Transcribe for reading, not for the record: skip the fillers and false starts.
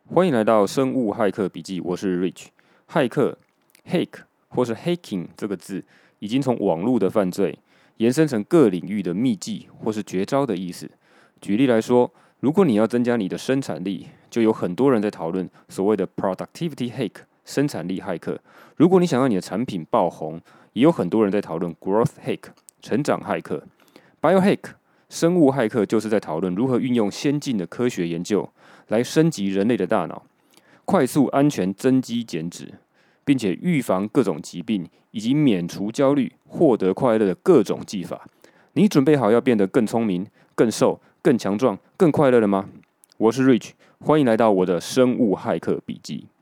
歡迎來到生物駭客筆記，我是 Rich。駭客 （hack） 或是 hacking 這個字，已經從網絡的犯罪延伸成各領域的秘技或是絕招的意思。舉例來說，如果你要增加你的生產力，就有很多人在討論所謂的 productivity hack 生產力駭客。如果你想要你的產品爆紅，也有很多人在討論 growth hack 成長駭客。biohack 生物駭客就是在討論如何運用先進的科學研究來升級人類的大腦，快速安全增肌減脂，並且預防各種疾病以及免除焦慮、獲得快樂的各種技法。你準備好要變得更聰明、更瘦、更強壯、更快樂了嗎？我是 Rich， 歡迎來到我的生物駭客筆記。